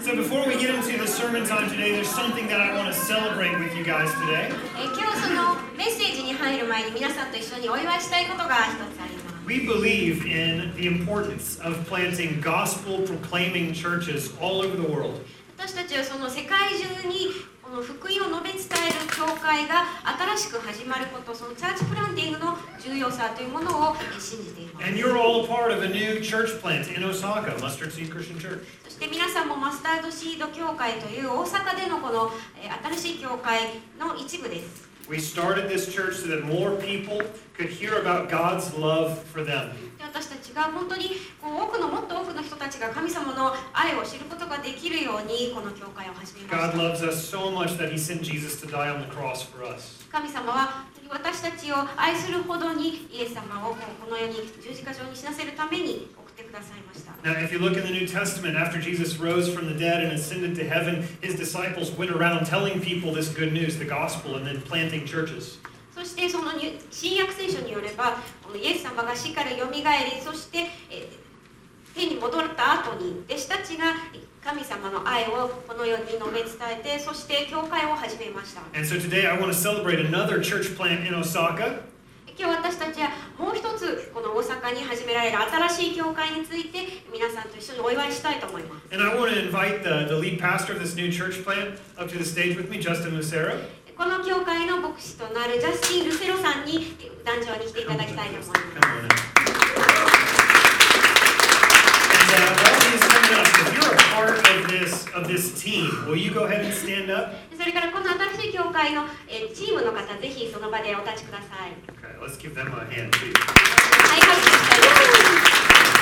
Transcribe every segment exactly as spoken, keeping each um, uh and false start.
So before we get into the sermon time today, there's something that I want to celebrate with you guys today. えー今日そのメッセージに入る前に皆さんと一緒にお祝いしたいことが一つあります。 We believe in the importance of planting gospel-proclaiming churches all over the world. 私たちはその世界中にこの福音を述べ伝える教会が新しく始まること、そのチャーチプランティングの重要さというものを信じています。 And you're all a part of a new church plant in Osaka, Mustard Seed Christian Church. そして皆さんもマスタードシード教会という大阪でのこのえー新しい教会の一部です。 We started this church so that more people could hear about God's love for them. で私たちが本当にこう多くのもっと多くの人たちが神様の愛を知ることができるようにこの教会を始めま God した。 loves us so much that He sent Jesus to die on the cross for us. 神様は私たちを愛するほどにイエス様をこの世に十字架上に死なせるために送ってくださいました。 Now, if you look in the New Testament, after Jesus rose from the dead and ascended to heaven, His disciples went around telling people this good news, the gospel, and then planting churches. そしてその新約聖書によればこのイエス様が死からよみがえり、そしてえー天に戻った後に弟子たちが神様の愛をこの世に述べ伝えて、そして教会を始めました。 And so today I want to celebrate another church plant in Osaka. 今日私たちはもう一つこの大阪に始められる新しい教会について皆さんと一緒にお祝いしたいと思います。 And I want to invite the, the lead pastor of this new church plant up to the stage with me, Justin Lucero. この教会の牧師となるジャスティン・ルセロさんに壇上に来ていただきたいと思います。 Come on in. And uh, while he's coming up, if you're a part of this of this team, will you go ahead and stand up? それからこの新しい教会のえチームの方、ぜひその場でお立ちください。 Okay, let's give them a hand too. はい、拍手したいと思います。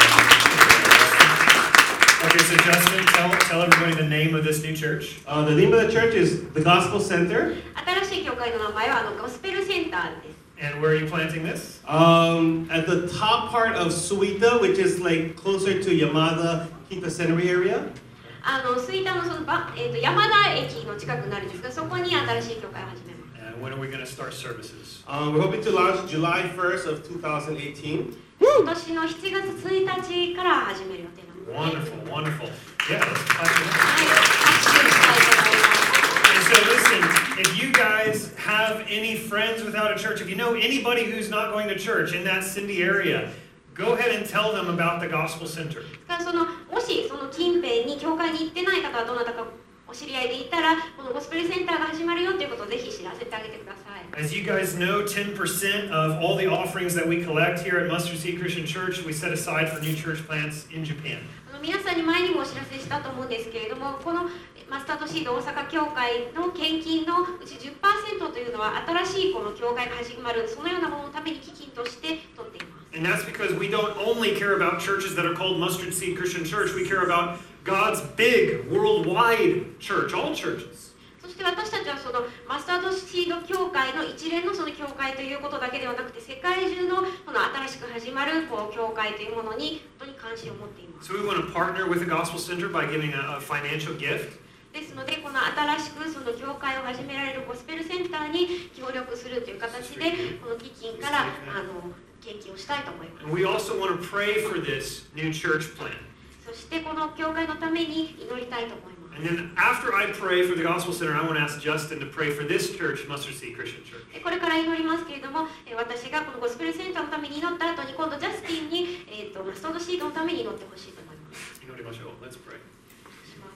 Okay, so Justin, tell tell everybody the name of this new church. Uh, the name of the church is the Gospel Center. 新しい教会の名前はあのゴスペルセンターです。 And where are you planting this? Um, at the top part of Suita, which is like closer to Yamada, Kitasenri area. あの吹田のそのば、えー、と山田駅の近くになるんですが、そこに新しい教会を始めます。 And when are we going to start services? Um, we're hoping to launch July first of twenty eighteen. 今年のしちがつついたちから始める予定なんです、ね。 Wonderful, wonderful. Yeah, let's clap it up. はい、拍手したいと思います。 And so listen, if you guys have any friends without a church, if you know anybody who's not going to church in that Cindy area, go ahead and tell them about the Gospel Center. そのもしその近辺に教会に行ってない方はどなたかお知り合いでいたら、このゴスペルセンターが始まるよということをぜひ知らせてあげてください。 As you guys know, ten percent of all the offerings that we collect here at Mustard Seed Christian Church, we set aside for new church plants in Japan. あの皆さんに前にもお知らせしたと思うんですけれども、このマスタードシード大阪教会の献金のうち じゅっパーセント というのは新しいこの教会が始まるそのようなもののために基金として取っています。 And that's because we don't only care about churches that are called Mustard Seed Christian Church, we care about God's big worldwide church, all churches. そして私たちはそのマスタードシード教会の一連のその教会ということだけではなくて、世界中のこの新しく始まるこう教会というものに本当に関心を持っています。 So we want to partner with the Gospel Center by giving a, a financial gift. ですので、この新しくその教会を始められるゴスペルセンターに協力するという形で、この基金からあの献金をしたいと思います。 And we also want to pray for this new church plant. そしてこの教会のために祈りたいと思います。 And then after I pray for the Gospel Center, I want to ask Justin to pray for this church, Mustard Seed Christian Church. これから祈りますけれども、私がこのゴスペルセンターのために祈った後に今度ジャスティンに、えー、とマスタードシードのために祈ってほしいと思います。 祈りましょう. Let's pray. します。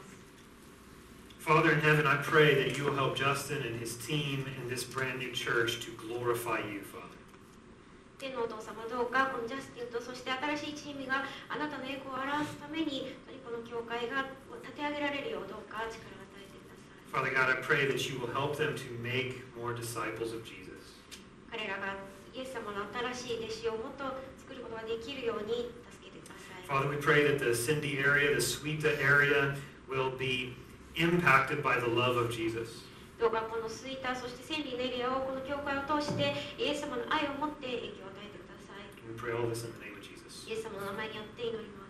Father in heaven, I pray that you will help Justin and his team in this brand new church to glorify you, Father. 天のお父様、どうかこのジャスティンとそして新しいチームがあなたの栄光を表すためにこの教会が立て上げられるようどうか力を与えてください。 Father God, I pray that you will help them to make more disciples of Jesus. 彼らがイエス様の新しい弟子をもっと作ることができるように助けてください。 Father, we pray that the Cindy area, the Suita area will be impacted by the love of Jesus. どうかこのスイーター、そしてセンリーのエリアをこの教会を通してイエス様の愛を持って影響を与えてください。 We pray all this in the name of Jesus. イエス様の名前によって祈ります。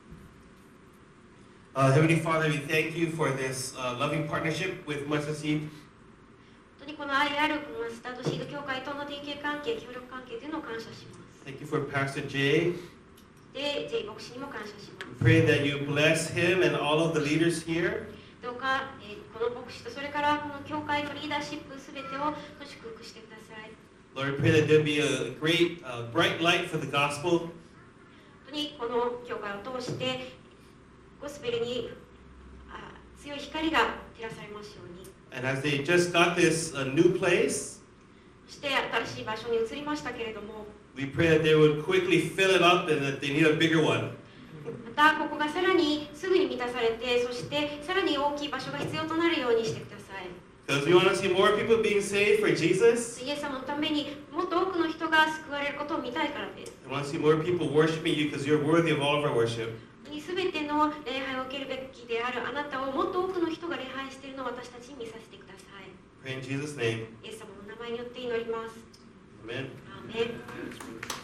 Uh, Heavenly Father, we thank you for this uh, loving partnership with Mustard Seed. 本当にこの愛あるマスタードシード教会との提携関係、協力関係というのを感謝します。 Thank you for Pastor Jay. そして Thank you for Pastor Jay. パスター・ジェイ、そして Thank you for Pastor Jay. パスター・ジェイ、 Uh, で J 牧師にも感謝します。 Pray that you bless him and all of the leaders here. どうか、えー、この牧師とそれからこの教会のリーダーシップすべてを祝福してください。 Lord, we pray that there be a great, uh, bright light for the gospel. 本当にこの教会を通してゴスペルにあ強い光が照らされますように。 And as they just got this uh, new place, そして新しい場所に移りましたけれども、 we pray that they would quickly fill it up and that they need a bigger one. またここがさらにすぐに満たされて、そしてさらに大きい場所が必要となるようにしてください。 Because we want to see more people being saved for Jesus. イエス様のためにもっと多くの人が救われることを見たいからです。 We want to see more people worshiping you because you're worthy of all of our worship. すべての礼拝を受けるべきであるあなたをもっと多くの人が礼拝しているのを私たちに見させてください。 Pray in Jesus' name. イエス様の名前によって祈ります。 Amen. アーメン。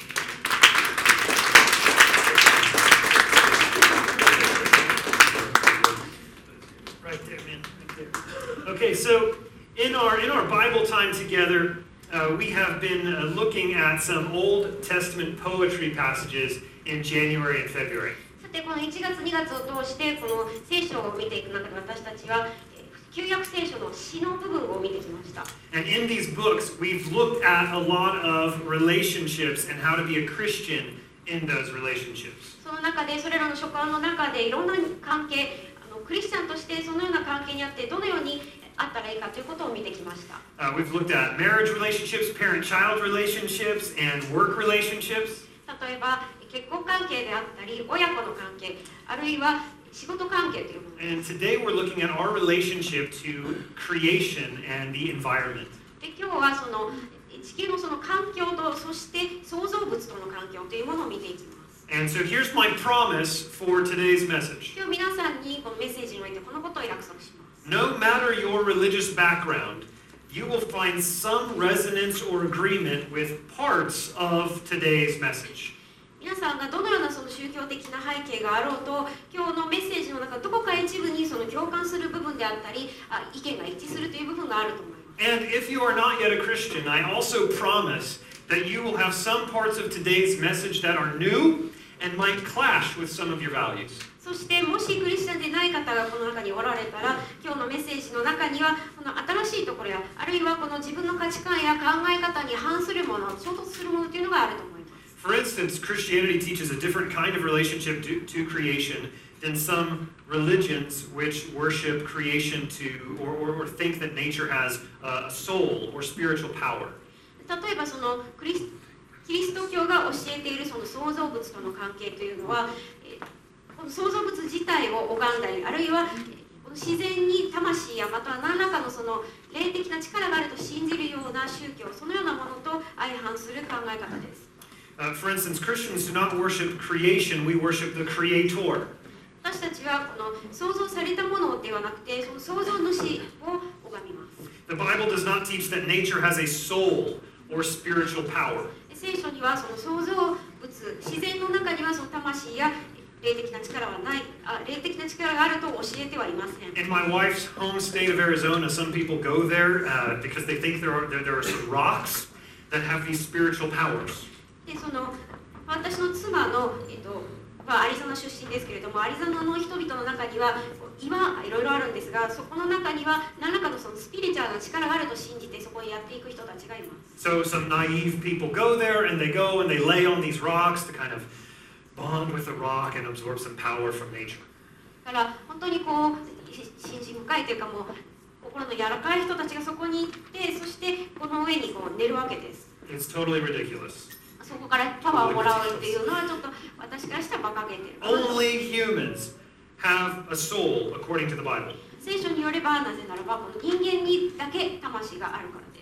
Right there, man. Right there. Okay, so in our in our Bible time together, uh, we have been uh, looking at some Old Testament poetry passages in January and February. さてこのいちがつにがつを通してこの聖書を見ていく中で私たちはえー旧約聖書の詩の部分を見てきました。 And in these books, we've looked at a lot of relationships and how to be a Christian in those relationships. その中でそれらの書簡の中でいろんな関係、あのクリスチャンとしてそのような関係にあってどのようにあったらいいかということを見てきました。 Uh, we've looked at marriage relationships, parent-child relationships, and work relationships. 例えば結婚関係であったり親子の関係、あるいは仕事関係というもの。 And today we're looking at our relationship to creation and the environment. で今日はその地球のその環境とそして創造物との環境というものを見ていきます。 And so here's my promise for today's message. 今日皆さんにこのメッセージにおいてこのことを約束します。 No matter your religious background, you will find some resonance or agreement with parts of today's message. 皆さんがどのようなその宗教的な背景があろうと、今日のメッセージの中どこか一部にその共感する部分であったり、あ意見が一致するという部分があると思います。 And if you are not yet a Christian, I also promise that you will have some parts of today's message that are new and might clash with some of your values. そしてもしクリスチャンでない方がこの中におられたら、今日のメッセージの中にはこの新しいところや、あるいはこの自分の価値観や考え方に反するもの、衝突するものというのがあると思います。 For instance, Christianity teaches a different kind of relationship to, to creation than some religions which worship creation to or, or, or think that nature has a soul or spiritual power. 例えばそのクリスキリスト教が教えているその創造物との関係というのは、えーこの創造物自体を拝んだり、あるいはえーこの自然に魂やまたは何らかのその霊的な力があると信じるような宗教、そのようなものと相反する考え方です。 Uh, for instance, Christians do not worship creation, we worship the Creator. 私たちはこの創造されたものではなくて、その創造主を拝みます。 The Bible does not teach that nature has a soul or spiritual power. 聖書にはその創造物、自然の中にはその魂や霊的な力はない、あ霊的な力があると教えてはいません。 In my wife's home state of Arizona, some people go there uh, because they think there are, there, there are some rocks that have these spiritual powers. でその私の妻の、えっとまあ、アリゾナ出身ですけれども、アリゾナの人々の中には岩いろいろあるんですが、そこの中には何らかのそのスピリチュアルな力があると信じてそこにやっていく人たちがいます。 So some naive people go there and they go and they lay on these rocks to kind of bond with the rock and absorb some power from nature. だから本当にこう信心深いというかもう心の柔らかい人たちがそこに行って、そしてこの上にこう寝るわけです。 It's totally ridiculous. そこからパワーをもらうっていうのはちょっと私からしたら馬鹿げてるかなと。 Only humans have a soul according to the Bible. 聖書によればなぜならばこの人間にだけ魂があるからです。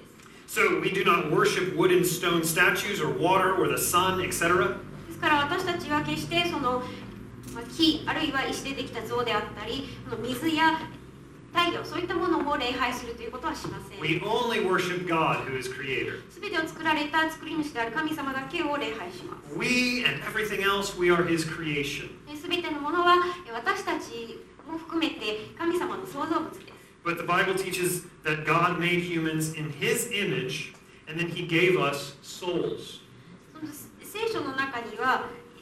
So we do not worship wood and stone statues or water or the sun, et cetera. ですから私たちは決してそのまあ木あるいは石でできた像であったり、この水や太陽そういったものを礼拝するということはしません。 We only worship God who is creator. すべてを作られた作り主である神様だけを礼拝します。 We and everything else, we are his creation. すべてのものは私たちも含めて神様の創造物です。 But the Bible teaches that God made humans in his image and then he gave us souls. その聖書の中には聖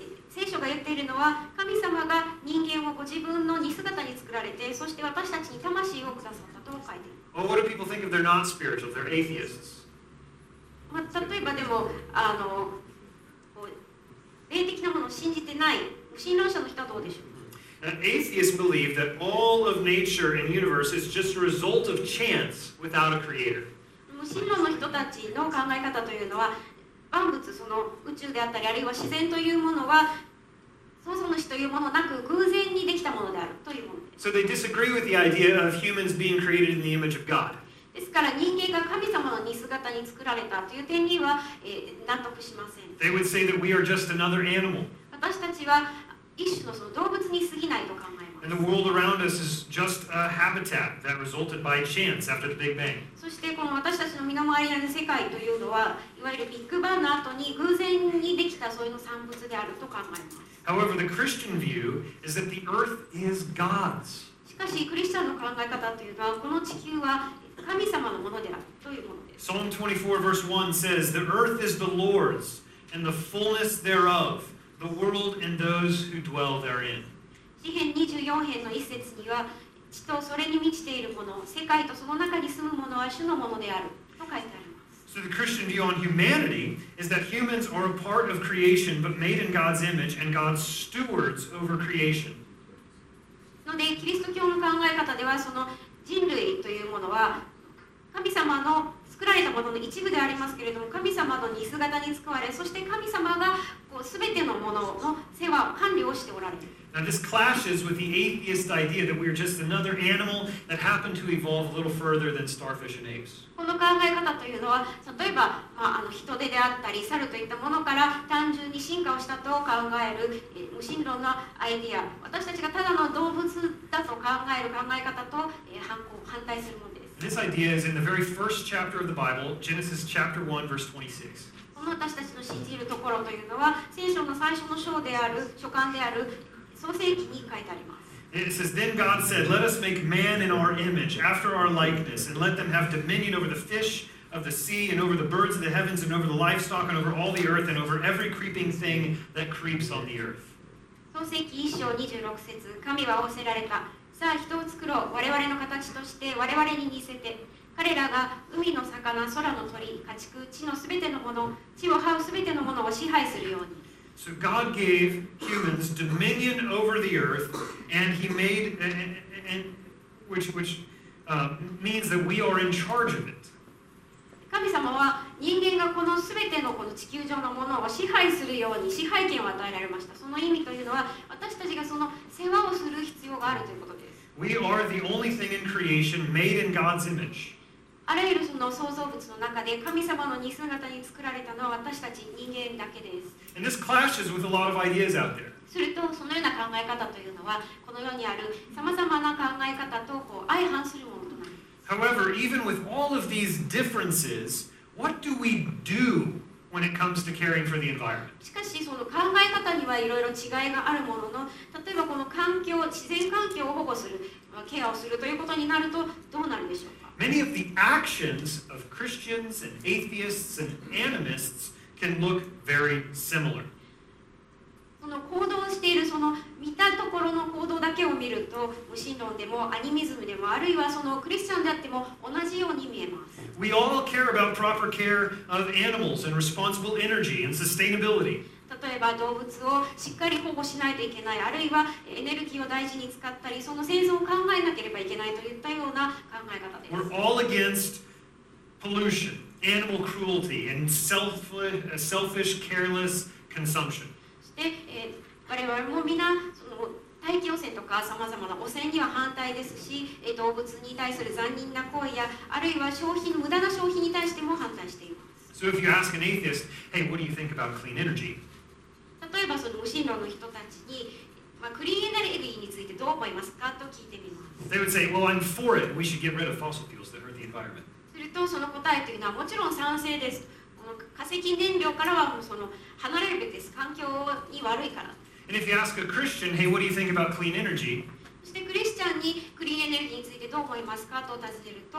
聖書が言っているのは、神様が人間をご自分の似姿に作られて、そして私たちに魂をくださったと書いている。 Well, what do people think if they're not spiritual, if they're atheists? まあ、例えばでもあのこう霊的なものを信じてない無神論者の人はどうでしょう。 Uh, atheists believe that all of nature and universe is just a result of chance without a creator. 無神論の人たちの考え方というのは、万物、その宇宙であったり、あるいは自然というものは創造主というものなく偶然にできたものであるというものです。 So they disagree with the idea of humans being created in the image of God. ですから人間が神様の似姿に作られたという点には、えー、納得しません。 They would say that we are just another animal, 私たちは一種のその動物に過ぎないと考えます。 and the world around us is just a habitat that resulted by chance after the Big Bang. そしてこの私たちの身の回りにある世界というのは、いわゆるビッグバンの後に偶然にできたそういうの産物であると考えます。 However, the Christian view is that the earth is God's. しかしクリスチャンの考え方というのは、この地球は神様のものであるというものです。 Psalm twenty-four verse one says, "The earth is the Lord's, and the fullness thereof, the world and those who dwell therein." 詩編にじゅうよん編の一節には、地とそれに満ちているもの、世界とその中に住むものは主のものであると書いてあります。 So the Christian view on humanity is that humans are a part of creation, but made in God's image, and God's stewards over creation. ので、キリスト教の考え方では、その人類というものは神様の作られたものの一部でありますけれども、神様の似姿に使われ、そして神様がこう全てのものの世話、管理をしておられる。 Now this clashes with the atheist idea that we're just another animal that happened to evolve a little further than starfish and apes. この考え方というのは、例えば、まあ、あの人手であったり猿といったものから単純に進化をしたと考える、えー、無神論のアイディア、私たちがただの動物だと考える考え方と、えー、反抗反対するものです。 This idea is in the very first chapter of the Bible, Genesis chapter one, verse twenty-six. この私たちの信じるところというのは、聖書の最初の章である書簡である創世記に書いてあります。 It says, "Then God said, Let us make man in our image, after our likeness, and let them have dominion over the fish of the sea, and over the birds of the heavens, and over the livestock, and over all the earth, and over every creeping thing that creeps on the earth." 創世記一章にじゅうろく節、神は仰せられた。さあ人を作ろう。我々の形として我々に似せて。彼らが海の魚、空の鳥、家畜、地のすべてのもの、地を這うすべてのものを支配するように。 So God gave humans dominion over the earth, and He made, and, and, which, which uh, means that we are in charge of it. 神様は人間がこのすべてのこの地球上のものを支配するように支配権を与えられました。その意味というのは、私たちがその世話をする必要があるということです。 We are the only thing in creation made in God's image. あらゆるその創造物の中で神様の似姿に作られたのは私たち人間だけです。 And this clashes with a lot of ideas out there. するとそのような考え方というのはこの世にあるさまざまな考え方とこう相反するものとなります。 However, even with all of these differences, what do we do when it comes to caring for the environment? しかしその考え方にはいろいろ違いがあるものの、例えばこの環境、自然環境を保護する、ケアをするということになるとどうなるでしょうか。 Many of the actions of Christians and atheists and animists can look very similar. その行動しているその見たところの行動だけを見ると、無神論でもアニミズムでもあるいはそのクリスチャンであっても同じように見えます。 We all care about proper care of animals and responsible energy and sustainability. 例えば動物をしっかり保護しないといけない、あるいはエネルギーを大事に使ったり、その生存を考えなければいけないといったような考え方です。 We're all against pollution, animal cruelty, and selfish, selfish careless consumption. そして、えー、我々も皆その大気汚染とかさまざまな汚染には反対ですし、えー、動物に対する残忍な行為やあるいは消費の無駄な消費に対しても反対しています。 So if you ask an atheist, hey, what do you think about clean energy? 例えばその無神論の人たちに、まあ、クリーンエネルギーについてどう思いますかと聞いてみます。 They would say, well, I'm for it. We should get rid of fossil fuels that hurt the environment. するとその答えというのはもちろん賛成です。この化石燃料からはもうその離れるべきです。環境に悪いから。 And if you ask a Christian, hey, what do you think about clean energy? そしてクリスチャンにクリーンエネルギーについてどう思いますかと尋ねると、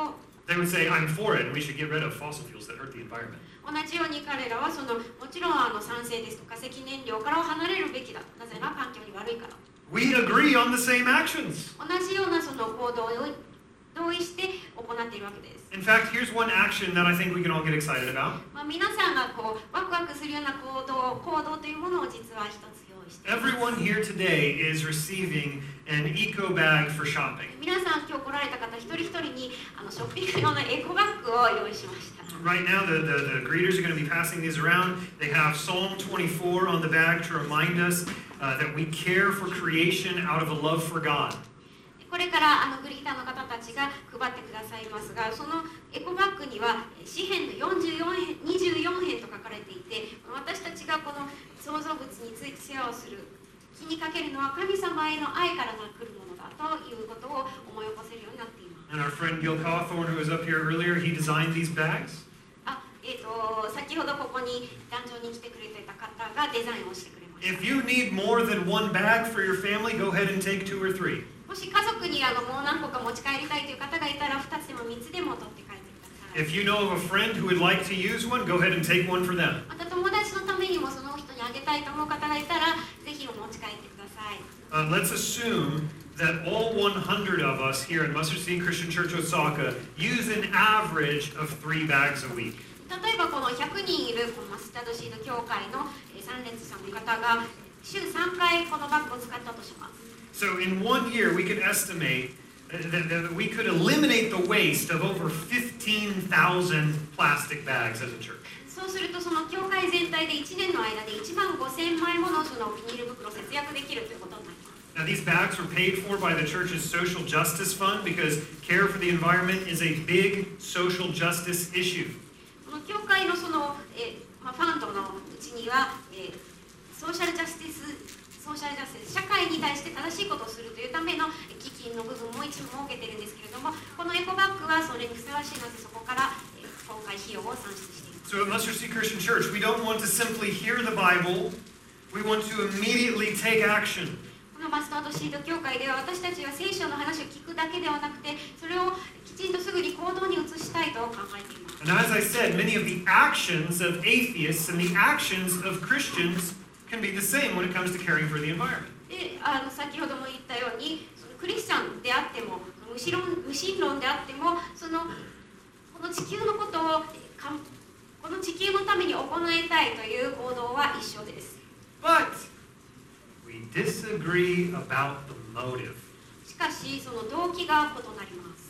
They would say, I'm for it, and we should get rid of fossil fuels that hurt the environment. 同じように彼らはそのもちろんあの賛成ですと化石燃料からは離れるべきだ。なぜなら環境に悪いから。 We agree on the same actions. 同じようなその行動を同意して行っているわけです。 In fact, here's one action that I think we can all get excited about. まあ、皆さんがこうワクワクするような行動、行動というものを実は一つ用意しています。 Everyone here today is receiving an eco bag for shopping. 皆さん今日来られた方一人一人にあのショッピング用のエコバッグを用意しました。 Right now, the, the, the greeters are going to be passing these around. They have Psalm twenty-four on the bag to remind us uh, that we care for creation out of a love for God. これからあのグリーターの方たちが配ってくださいますが、そのエコバッグには詩編のよんじゅうよん編、にじゅうよん編と書かれていて、私たちがこの創造物について世話をする、気にかけるのは神様への愛から来るものだということを思い起こせるようになっています。 And our friend Gil Cawthorn, who was up here earlier, he designed these bags. あ、えーと、先ほどここに壇上に来てくれていた方がデザインをしてくれました。 If you need more than one bag for your family, go ahead and take two or three. もし家族にあのもう何個か持ち帰りたいという方がいたらふたつでもみっつでも取って帰ってください。 If you know of a friend who would like to use one, go ahead and take one for them. また友達のためにもその人にあげたいと思う方がいたらぜひお持ち帰ってください。 Uh, let's assume that all one hundred of us here at Mustard Seed Christian Church Osaka use an average of three bags a week. 例えばこのひゃくにんいるこのマスタードシード協会の参列者の方が週さんかいこのバッグを使ったとします。 So in one year, we could estimate that, that we could eliminate the waste of over fifteen thousand plastic bags as a church. そうするとその協会全体でいちねんの間でいちまんごせんまいものそのビニール袋を節約できるということになります。 Now, these bags were paid for by the church's social justice fund because care for the environment is a big social justice issue. この協会のその、えーまあ、ファンドのうちには、えー、ソーシャルジャスティスソーシャルジャスティス社会に対して正しいことをするというための基金の部分も一部設けているんですけれども、このエコバッグはそれにふさわしいのでそこから、えー、今回費用を算出しています。 So at Mustard Seed Christian Church, we don't want to simply hear the Bible, we want to immediately take action. このマスタードシード協会では私たちは聖書の話を聞くだけではなくて、それをきちんとすぐに行動に移したいと考えています。 And as I said, many of the actions of atheists and the actions of Christians can be the same when it comes to caring for the environment. で、あの先ほども言ったように、そのクリスチャンであっても、無神論、無神論であっても、そのこの地球のことをかこの地球のために行いたいという行動は一緒です。 But we disagree about the motive. しかし、その動機が異なります。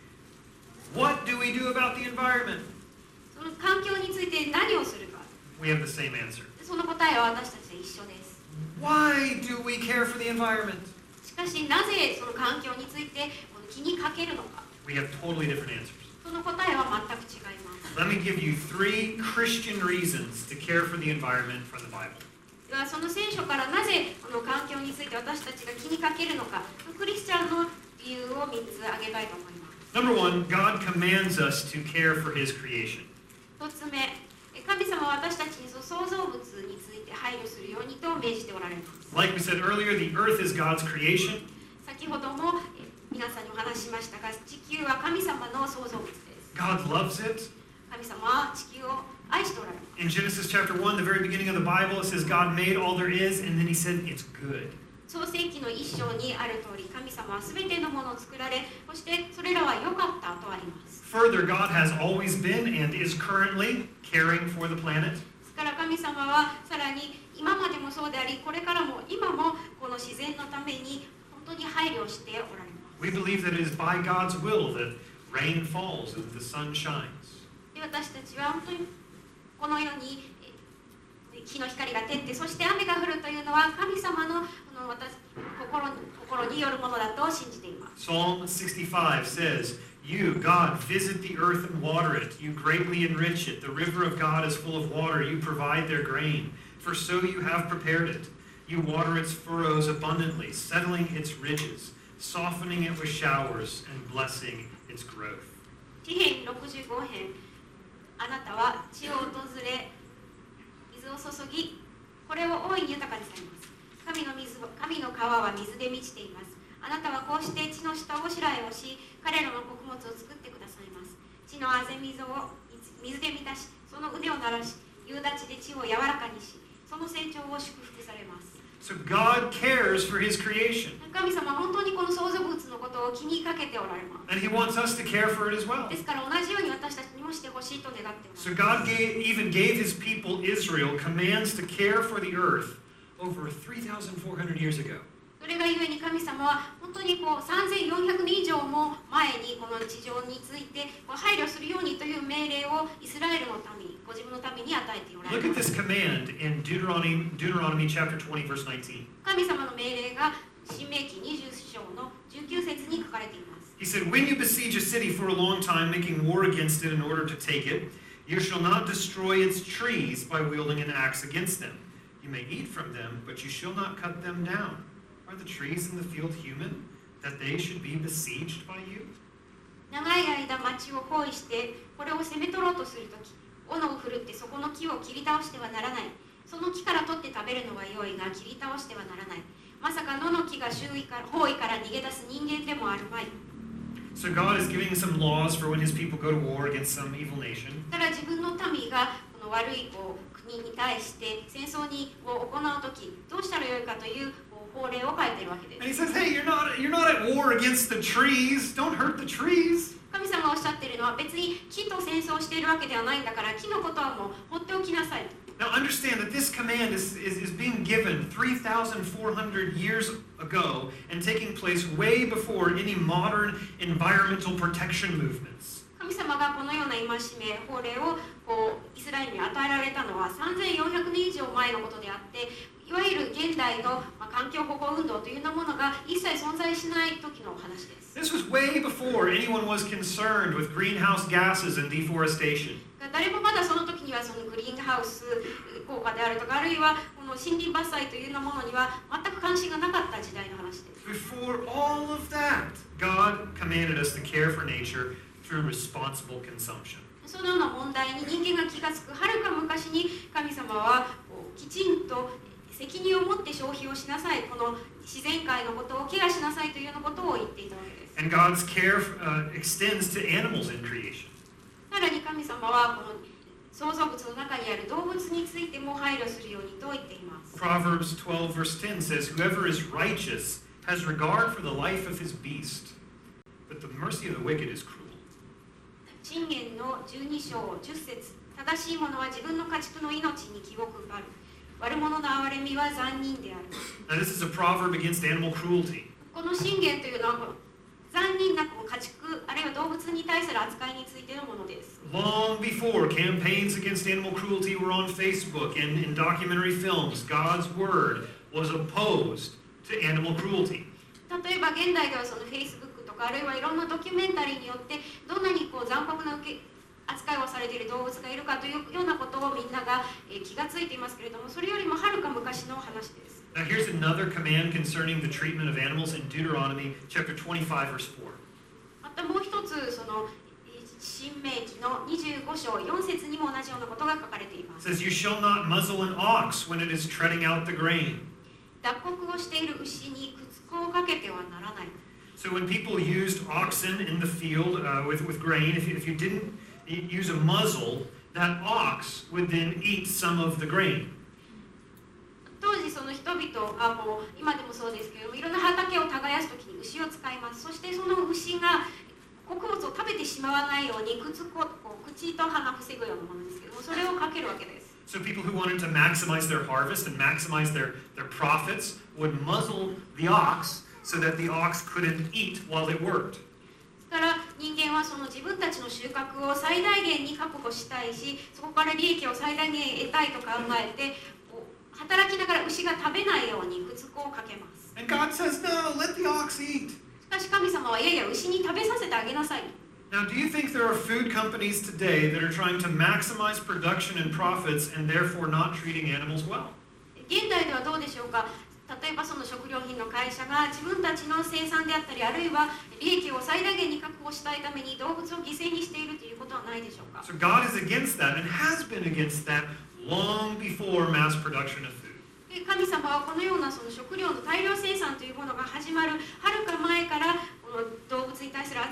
What do we do about the environment? その環境について何をするか。 We have the same answer. その答えは私たちで一緒です。 Why do we care for the environment? しかし、なぜその環境についてこの気にかけるのか。 We have totally different answers. その答えは全く違います。 Let me give you three Christian reasons to care for the environment from the Bible. ではその聖書からなぜこの環境について私たちが気にかけるのか、クリスチャンの理由をみっつ挙げたいと思います。 Number one, God commands us to care for His creation. 一つ目、神様は私たちに創造物について配慮するようにと命じておられます。 Like we said earlier, the earth is God's creation. 先ほども皆さんにお話ししましたが、地球は神様の創造物です。 God loves it. 神様は地球を愛しておられます。 In Genesis chapter one, the very beginning of the Bible, it says God made all there is, and then He said it's good. 創世記の一章にある通り、神様はすべてのものを作られ、そしてそれらは良かったとあります。 Further, God has always been and is currently caring for the planet. ですから神様はさらに今までもそうであり、これからも今もこの自然のために本当に配慮しておられます。 We believe that it is by God's will that rain falls and the sun shines. で、私たちは本当にこのように日の光が照って、そして雨が降るというのは神様のこの私心に心によるものだと信じています。 Psalm sixty-five says, You, God, visit the earth and water it. You greatly enrich it. The river of God is full of water. You provide their grain. For so you have prepared it. You water its furrows abundantly, settling its ridges, softening it with showers, and blessing its growth. 詩編ろくじゅうご編、あなたは地を訪れ、水を注ぎ、これを大いに豊かにされます。神の水神の川は水で満ちています。あなたはこうして地の下をしらえをし、彼らの穀物を作ってくださいます。 血のあぜ水を水で満たし、その腕を鳴らし、夕立で地を柔らかにし、その成長を祝福されます。 So God cares for his creation. 神様は本当にこの創造物のことを気にかけておられます。 And he wants us to care for it as well. ですから同じように私たちにもしてほしいと願っております。 So God gave, even gave his people Israel commands to care for the earth over three thousand four hundred years ago. それがゆえに神様は本当にこうさんぜんよんひゃくねん以上も前にこの地上についてこう配慮するようにという命令をイスラエルの民、ご自分の民に与えておられ Look at ます。 this command in Deuteronomy, Deuteronomy chapter twenty, verse nineteen. 神様の命令が新明記にじゅう章のじゅうきゅう節に書かれています。 He said, when you besiege a city for a long time, making war against it in order to take it, you shall not destroy its trees by wielding an axe against them. You may eat from them, but you shall not cut them down. Are the trees in the field human, that they should be besieged by you? 長い間町を包囲してこれを攻め取ろうとするとき、斧を振るってそこの木を切り倒してはならない。その木から取って食べるのは良いが切り倒してはならない。まさか野の木が周囲から包囲から逃げ出す人間でもあるまい。 So God is giving some laws for when his people go to war against some evil nation. だから自分の民がこの悪いこう国に対して戦争にを行うときどうしたらよいかという法令を書いているわけで And he す。 says, hey, you're not, you're not at war against the trees. Don't hurt the trees. 神様がおっしゃっているのは別に木と戦争しているわけではないんだから木のことはもう放っておきなさい。 Now understand that this command is, is, is being given three thousand four hundred years ago and taking place way before any modern environmental protection movements. 神様がこのような戒め、法令をこうイスラエルに与えられたのはさんぜんよんひゃくねん以上前のことであって、いわゆる現代の、まあ、環境保護運動というようなものが一切存在しない時のお話です。 This was way before anyone was concerned with greenhouse gases and deforestation. 誰もまだその時にはそのグリーンハウス効果であるとか、あるいはこの森林伐採というようなものには全く関心がなかった時代の話です。 Before all of that, God commanded us to care for nature through responsible consumption. そのような問題に人間が気がつくはるか昔に神様はこうきちんと責任を持って消費をしなさい、この自然界のことをケアしなさいというようなことを言っていたわけです。 And God's care uh, extends to animals in creation. さらに神様はこの創造物の中にある動物についても配慮するようにと言っています。 Proverbs twelve verse ten says, whoever is righteous has regard for the life of his beast, but the mercy of the wicked is cruel. 箴言のじゅうに章じゅっ節、正しい者は自分の家畜の命に気を配る。悪者の憐れみは残忍である。 Now this is a proverb against animal cruelty. この箴言というのは残忍なこう家畜あるいは動物に対する扱いについてのものです。 Long before campaigns against animal cruelty were on Facebook and in documentary films, God's word was opposed to animal cruelty. 例えば現代ではその Facebook とかあるいはいろんなドキュメンタリーによってどんなにこう残酷な受け扱いをされている動物がいるかというようなことをみんなが、えー、気がついていますけれども、それよりもはるか昔の話です。 Now here's another command concerning the treatment of animals in Deuteronomy chapter twenty-five verse four. またもう一つその新明記のにじゅうご章よん節にも同じようなことが書かれていま It す。 says, you shall not muzzle an ox when it is treading out the grain. 脱穀をしている牛に靴子をかけてはならない。 So when people used oxen in the field uh, with, with grain, if you, if you didn't use a muzzle, that ox would then eat some of the grain. 当時その人々がもう今でもそうですけれども、いろんな畑を耕すときに牛を使います。そしてその牛が穀物を食べてしまわないように靴子こう口と鼻を防ぐようなものですけども、それをかけるわけです。 So people who wanted to maximize their harvest and maximize their, their profits would muzzle the ox so that the ox couldn't eat while it worked. だから人間はその自分たちの収穫を最大限に確保したいし、そこから利益を最大限得たいと考えて働きながら牛が食べないように靴子をかけます。 And God says, no, let the ox eat. しかし神様はいやいや牛に食べさせてあげなさい。 Now, do you think there are food companies today that are trying to maximize production and profits and therefore not treating animals well? 現代ではどうでしょうか。例えばその食料品の会社が自分たちの生産であったり、あるいは利益を最大限に確保したいために動物を犠牲にしているということはないでしょうか。 So God is against that and has been against that long before mass production of food. 神様はこのようなその食料の大量生産というものが始まるはるか前からこの動物に対する扱いにつ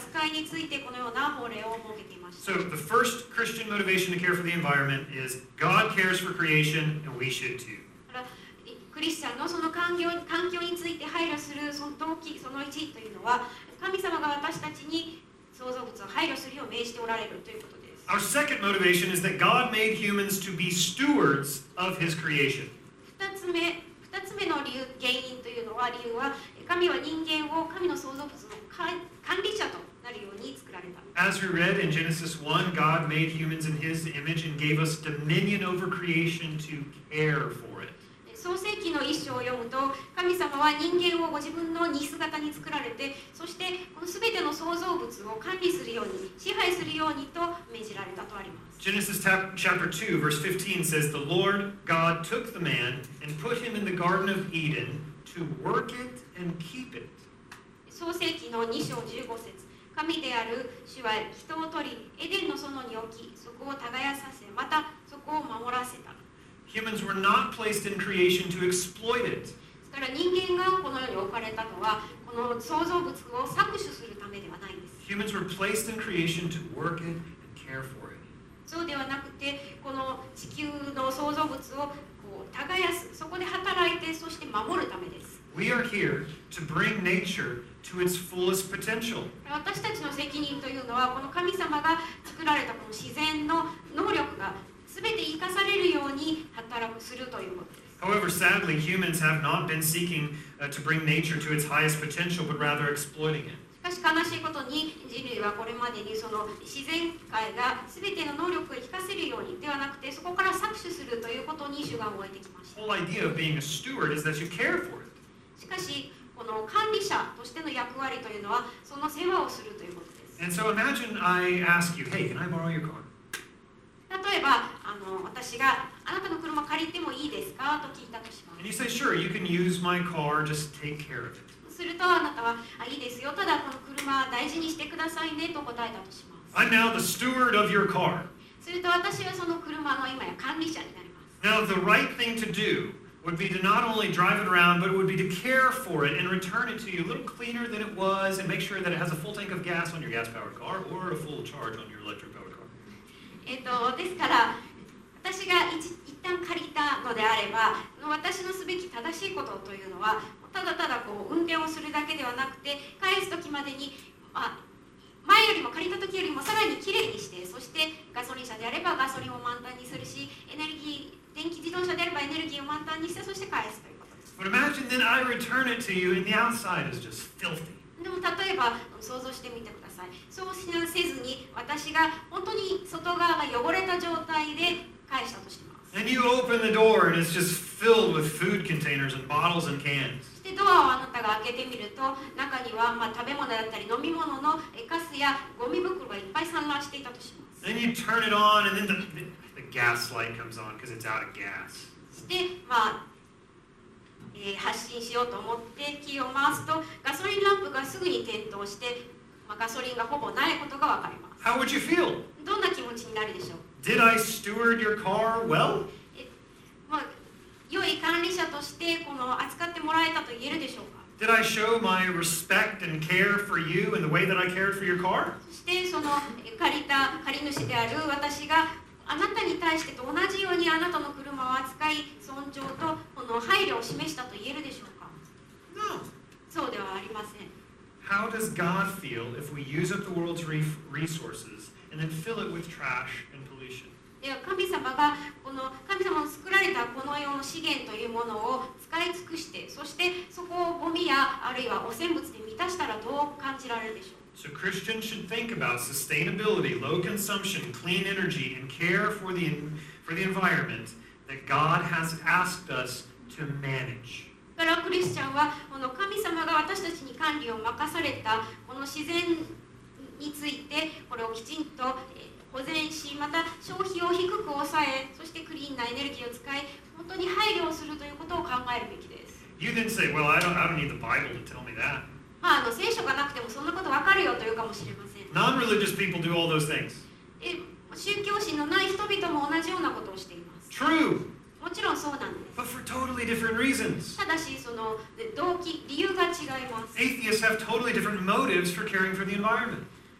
ついてこのような法令を設けていました。 So the first Christian motivation to care for the environment is God cares for creation, and we should too. だからクリスチャンのその環境環境について配慮するその動機、そのいちというのは、神様が私たちに創造物を配慮するよう命じておられるということです。 Our second motivation is that God made humans to be stewards of His creation. 二つ目、二つ目の理由、原因というのは、理由は、神は人間を神の創造物の管理者となるように作られた。 As we read in Genesis one, God made humans in His image and gave us dominion over creation to care for it. 創世記の一章を読むと、神様は人間をご自分の似姿に作られて、そしてこのすべての創造物を管理するように、支配するようにと命じられたとあります。 Genesis chapter two, verse fifteen says, The Lord God took the man and put him in the Garden of Eden to work it and keep it. 創世記のに章じゅうご節、神である主は人を取り、エデンの園に置き、そこを耕させ、またそこを守らせた。 Humans were not placed in creation to exploit it. ですから人間がこの世に置かれたのは、この創造物を搾取するためではないんです。 Humans were placed in creation to work it and care for it. そうではなくて、この地球の創造物をこう耕す、そこで働いて、そして守るためです。 We are here to bring nature to its fullest potential. 私たちの責任というのは、この神様が作られたこの自然の能力が全て生かされるように働くするということです。 However, sadly, humans have not been seeking uh, to bring nature to its highest potential, but rather exploiting it. しかし悲しいことに、人類はこれまでにその自然界が全ての能力を生かせるようにではなくて、そこから搾取するということに主眼を置いてきまし The た。 whole idea of being a steward is that you care for it. しかし、この管理者としての役割というのは、その世話をするということです。 And so imagine I ask you, hey, can I borrow your car? 例えばあの、私があなたの車借りてもいいですかと聞いたとしま And す。 you say, sure, you can use my car, just take care of it. するとあなたは、あ、いいですよ、ただこの車大事にしてくださいねと答えたとします。 I'm now the steward of your car. すると私はその車の今や管理者になります。 Now, the right thing to do would be to not only drive it around, but it would be to care for it and return it to you a little cleaner than it was and make sure that it has a full tank of gas on your gas-powered car or a full charge on your electric-powered car. えっと、ですから私が一一旦借りたのであれば、私のすべき正しいことというのは、ただただこう運転をするだけではなくて、返す時までに、まあ、前よりも借りた時よりもさらにきれいにして、そしてガソリン車であればガソリンを満タンにするし、エネルギー電気自動車であればエネルギーを満タンにして、そして返すということです。 But imagine then I return it to you and the outside is just filthy. でも例えば想像してみてください。そうしなせずに私が本当に外側が汚れた状態で返したとします。 And you open the door and it's just filled with food containers and bottles and cans. そしてドアをあなたが開けてみると、中にはまあ食べ物だったり飲み物のカスやゴミ袋がいっぱい散乱していたとします。 Then you turn it on and then the, the gas light comes on because it's out of gas. そしてまあ、えー発信しようと思ってキーを回すと、ガソリンランプがすぐに点灯して、まあ、ガソリンがほぼないことがわかります。 How would you feel? どんな気持ちになるでしょう。 Did I steward your car well? えまあ、良い管理者としてこの扱ってもらえたと言えるでしょうか。 Did I show my respect and care for you in the way that I cared for your car? そしてそのえ借りた借り主である私があなたに対してと同じようにあなたの車を扱い、尊重とこの配慮を示したと言えるでしょうか。 No. そうではありません。 How does God feel if we use up the world's re- resources and then fill it with trash and pollution? では神様がこの神様の作られたこの世の資源というものを使い尽くして、そしてそこをゴミやあるいは汚染物で満たしたらどう感じられるでしょう。 So Christians should think about sustainability, low consumption, clean energy, and care for the, for the environment that God has asked us to manage. だからクリスチャンはこの神様が私たちに管理を任されたこの自然についてこれをきちんと保全し、また消費を低く抑え、そしてクリーンなエネルギーを使い、本当に配慮をするということを考えるべきです。 You then say, well, I don't, I don't need the Bible to tell me that. まあ、あの聖書がなくてもそんなことわかるよというかもしれません。 Non-religious people do all those things. え宗教心のない人々も同じようなことをしています。 True, もちろんそうなんです。 but for totally different reasons. ただし、その動機、理由が違います。 Atheists have totally different motives for caring for the environment.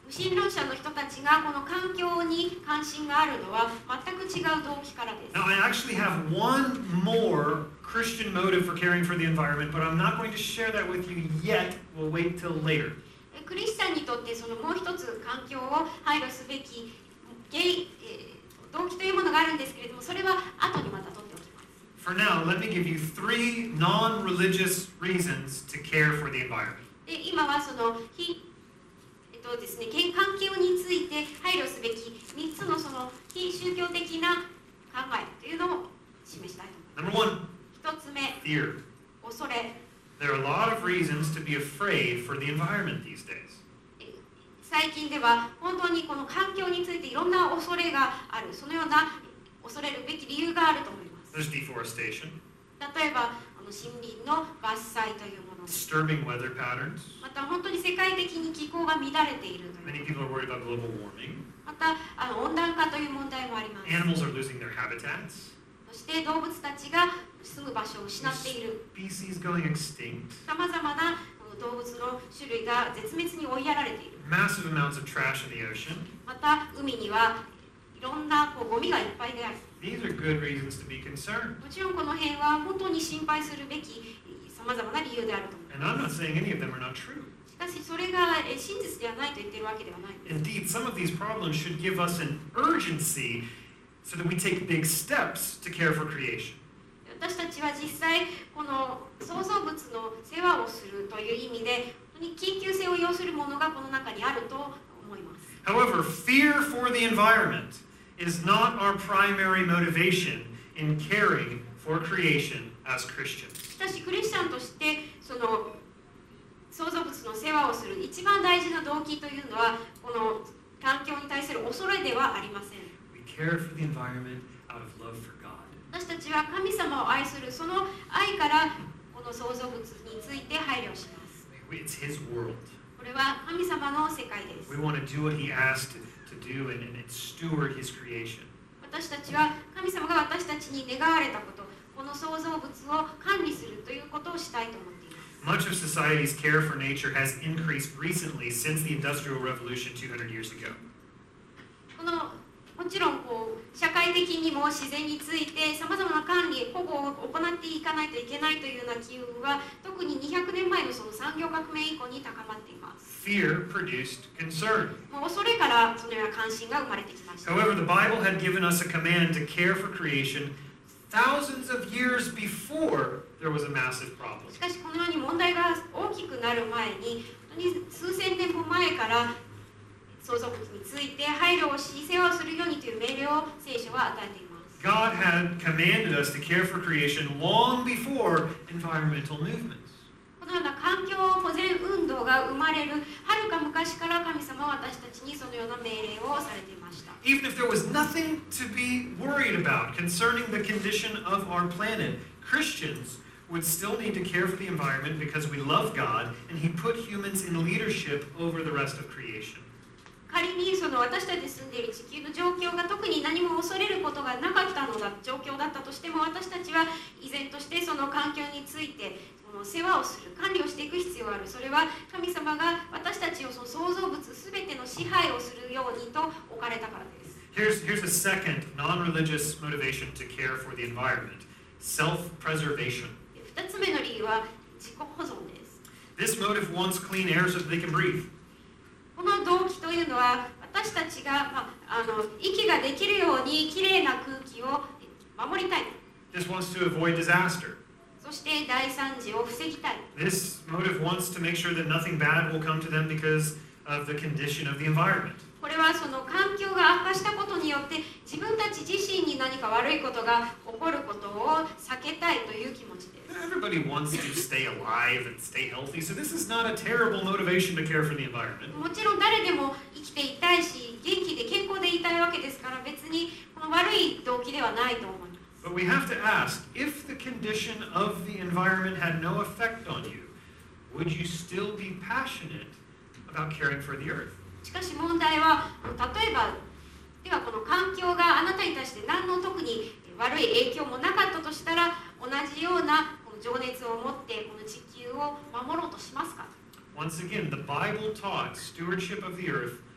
無神論者の人たちがこの環境に関心があるのは全く違う動機からです。 Now, I actually have one more Christian motive for caring for the environment, but I'm not going to share that with you yet. We'll wait till later. クリスチャンにとってそのもう一つ環境を配慮すべき原因、えー動機というものがあるんですけれども、それは後にまた取っておきます。 For now, let me give you three non-religious reasons to care for the environment. で今はその非、えっとですね、環境について配慮すべきみっつのその非宗教的な考えというのを示したいと思います。 Number one, 一つ目、 fear. 恐れ。 There are a lot of reasons to be afraid for the environment these days. 最近では本当にこの環境についていろんな恐れがある、そのような恐れるべき理由があると思います。 There's deforestation, 例えばあの森林の伐採というもの、 disturbing weather patterns. また本当に世界的に気候が乱れているという、 Many people are worried about global warming. またあの温暖化という問題もあります。 Animals are losing their habitats. そして動物たちが住む場所を失っている、 Species going extinct. さまざまな動物の種類が絶滅に追いやられている。 Massive amounts of trash in the ocean. また海にはいろんなこうゴミがいっぱいである。 These are good reasons to be concerned. もちろんこの辺は本当に心配するべきさまざまな理由であると思い And I'm not saying any of them are not true. ます。しかしそれがえ真実ではないと言っているわけではないんです。 Indeed, some of these problems should give us an urgency so that we take big steps to care for creation. 私たちは実際この創造物の世話をするという意味で本当に緊急性を要するものがこの中にあると思います。 However, fear for the environment is not our primary motivation in caring for creation as Christians. しかしクリスチャンとしてその創造物の世話をする一番大事な動機というのはこの環境に対する恐れではありません。 We care for the environment out of love for God. 私たちは神様を愛するその愛からこの創造物について配慮します。 It's His world. これは神様の世界です。 We want to do what He asked to do and, and steward His creation. 私たちは神様が私たちに願われたこと、この創造物を管理するということをしたいと思っています。 Much of society's care for nature has increased recently since the Industrial Revolution two hundred years ago. このもちろんこう社会的にも自然についてさまざまな管理、保護を行っていかないといけないというような機運は特ににひゃくねんまえのその産業革命以降に高まっています。 Fear produced concern. もう恐れからそのような関心が生まれてきました。 However, the Bible had given us a command to care for creation thousands of years before there was a massive problem. しかしこのように問題が大きくなる前に、本当に数千年も前から創造物について配慮をし、世話をするようにという命令を聖書は与えています。 God had commanded us to care for creation long before environmental movements. このような環境保全運動が生まれるはるか昔から神様は私たちにそのような命令をされていました。 Even if there was nothing to be worried about concerning the condition of our planet, Christians would still need to care for the environment because we love God and He put humans in leadership over the rest of creation. 仮にその私たちに住んでいる地球の状況が特に何も恐れることがなかったのだ状況だったとしても、私たちは依然としてその環境についてその世話をする、管理をしていく必要がある。それは神様が私たちをその創造物すべての支配をするようにと置かれたからです。 Here's, here's a second non-religious motivation to care for the environment: self-preservation. ふたつめの理由は自己保存です。 This motive wants clean air so that they can breathe. この動機というのは私たちが、まあ、あの息ができるようにきれいな空気を守りたい。 This wants to avoid disaster. そして大惨事を防ぎたい。 This motive wants to make sure that nothing bad will come to them because of the condition of the environment. これはその環境が悪化したことによって自分たち自身に何か悪いことが起こることを避けたいという気持ちです。 Everybody wants to stay alive and stay healthy, so this is not a terrible motivation to care for the environment. もちろん誰でも生きていたいし、元気で健康でいたいわけですから、別にこの悪い動機ではないと思います。 But we have to ask, if the condition of the environment had no effect on you, would you still be passionate about caring for the earth? しかし問題は、例えばではこの環境があなたに対して何の特に悪い影響もなかったとしたら、同じようなこの情熱を持ってこの地球を守ろうとしますか？ Once again, the Bible taught stewardship of the earth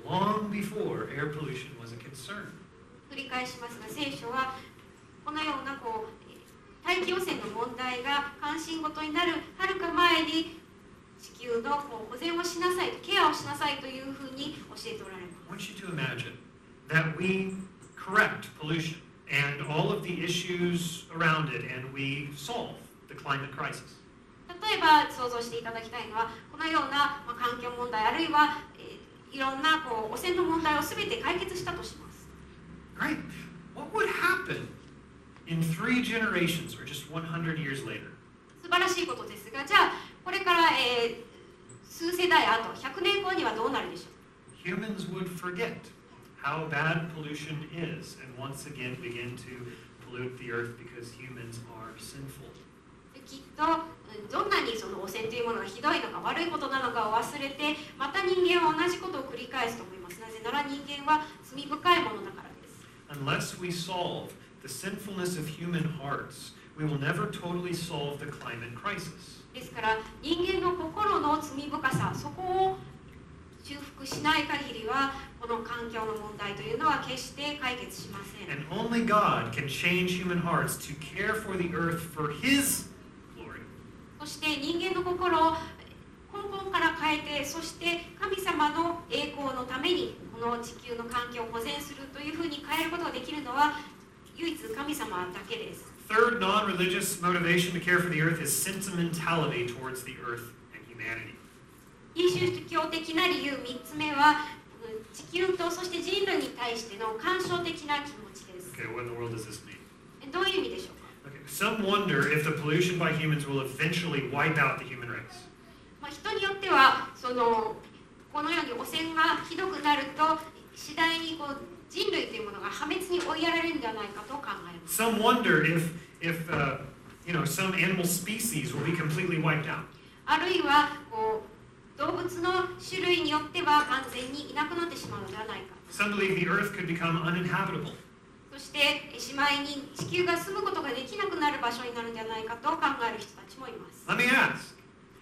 long before air pollution was a concern. 繰り返しますが、聖書はこのようなこう大気汚染の問題が関心事になるはるか前に地球のこう保全をしなさい、ケアをしなさいというふうに教えておられます。 I want you to imagine that we correct pollution and all of the issues around it, and we solve the climate crisis. 例えば想像していただきたいのは、このような、まあ、環境問題あるいは、えー、いろんなこう汚染の問題を全て解決したとします。 Right? What would happen in three generations or just one hundred years later? 素晴らしいことですが、じゃあこれから、えー、数世代あとひゃくねんごにはどうなるでしょう。 Humans would forget how bad pollution is and once again begin to pollute the earth because humans are sinful. きっとどんなにその汚染というものがひどいのか悪いことなのかを忘れて、また人間は同じことを繰り返すと思います。なぜなら人間は罪深いものだからです。 Unless we solve the sinfulness of human hearts, we will never totally solve the climate crisis. ですから人間の心の罪深さ、そこを修復しない限りはこの環境の問題というのは決して解決しません。 And only God can change human hearts to care for the earth for His glory. そして人間の心を根本から変えて、そして神様の栄光のためにこの地球の環境を保全するというふうに変えることができるのは唯一神様だけです。 Third non-religious motivation to care for the earth is sentimentality towards the earth and humanity. 非宗教的な理由みっつめは地球とそして人類に対しての感傷的な気持ちです。 Okay, what in the world does this mean? どういう意味でしょうか。 Okay, some wonder if the pollution by humans will eventually wipe out the human race. まあ、人によってはそのこのように汚染がひどくなると次第にこう人類というものが破滅に追いやられるんではないかと考えます。 Some wonder if, if uh, you know, some animal species will be completely wiped out. あるいはこう動物の種類によっては完全にいなくなってしまうのではないか。 Some believe the earth could become uninhabitable. そしてしまいに地球が住むことができなくなる場所になるんではないかと考える人たちもいます。 Let me ask,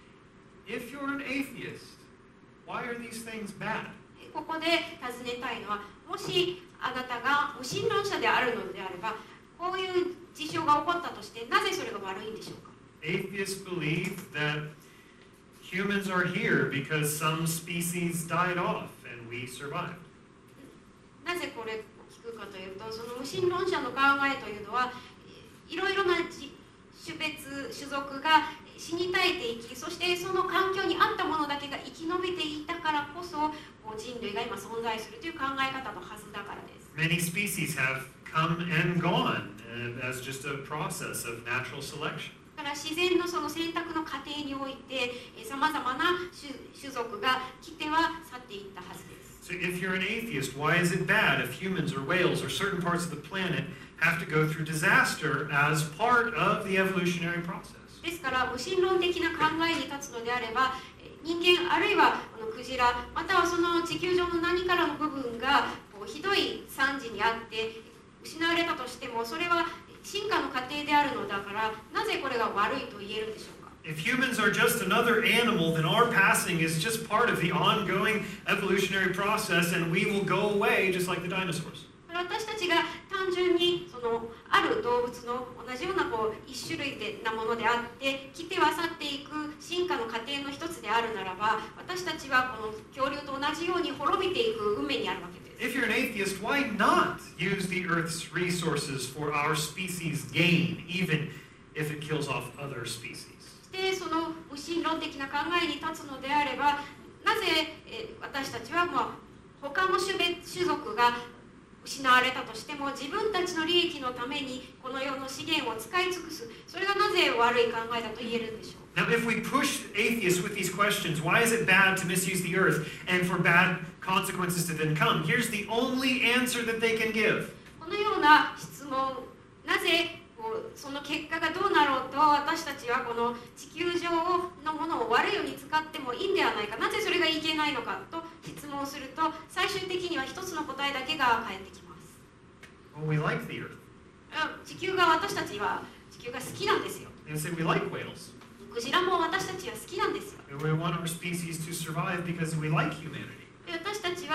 if you're an atheist, why are these things bad? ここで尋ねたいのは、もしあなたが無神論者であるのであれば、こういう事象が起こったとして、なぜそれが悪いんでしょうか。 Atheists believe that humans are here because some species died off and we survived. なぜこれを聞くかというと、その無神論者の考えというのは、いろいろな種別、種族が死に絶えていき、そしてその環境に合ったものだけが生き延びていたからこそ、人類が今存在するという考え方のはずだからです。 Many species have come and gone uh, as just a process of natural selection. だから自然のその選択の過程において、さまざまな種、種族が来ては去っていったはずです。 So if you're an atheist, why is it bad if humans or whales or certain parts of the planet have to go through disaster as part of the evolutionary process? ですから無神論的な考えに立つのであれば、人間あるいはこのクジラ、またはその地球上の何からの部分がこうひどい惨事にあって失われたとしても、それは進化の過程であるのだから、なぜこれが悪いと言えるんでしょうか。 If humans are just another animal, then our passing is just part of the ongoing evolutionary process and we will go away just like the dinosaurs. 私たちが単純にそのある動物の同じようなこう一種類でなものであって来ては去っていく進化の過程の一つであるならば、私たちはこの恐竜と同じように滅びていく運命にあるわけです。 If you're an atheist, why not use the Earth's resources for our species' gain, even if it kills off other species? でその無神論的な考えに立つのであれば、なぜえ私たちは、まあ、他の種別種族が失われたとしても自分たちの利益のためにこの世の資源を使い尽くす、それがなぜ悪い考えだと言えるんでしょう。 Now, if we push atheists with these questions, why is it bad to misuse the earth and for bad consequences to then come? Here's the only answer that they can give. このような質問、なぜこうその結果がどうなろうと私たちはこの地球上のものを悪いように使ってもいいんではないか、なぜそれがいけないのかと質問すると、最終的には一つの答えだけが返ってきます。 Well, we like the earth. 地球が私たちは地球が好きなんですよ。 And say we like whales. クジラも私たちは好きなんですよ。 And we want our species to survive because we like humanity. で私たちはそ